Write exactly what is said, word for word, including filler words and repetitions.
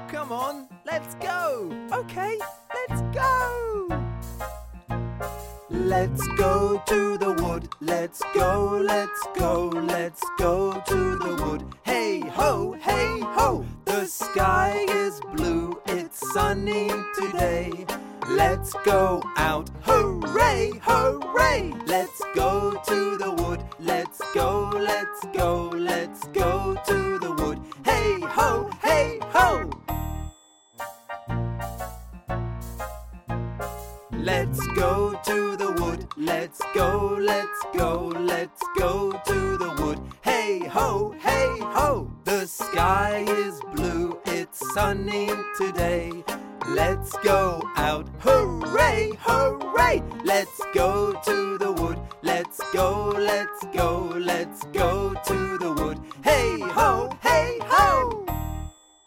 come on, let's go. Okay, let's go. Let's go to the wood. Let's go, let's go, let's go to the wood. Hey ho, hey ho, the sky is blue, it's sunny today. Let's go out, hooray, hooray. Let's go to the wood. Let's go, let's go, let's go to the wood. Hey ho, hey ho. Let's go to the wood. Let's go, let's go, let's go to the wood. Hey ho, hey ho, the sky is blue, it's sunny today. Let's go out, hooray, hooray. Let's go to the wood. Let's go, let's go, let's go to the wood. Hey ho, hey ho.